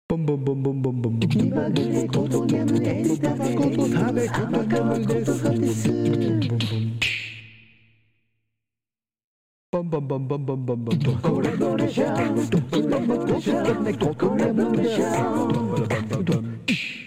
ボンボンボンボンボンボンボン。 気まぐれこと眠エスタバこと食べ玉川ことかです。 ボンボンボンボンボンボンボンボン。 これどれじゃん、これどれじゃん、これどれじゃん。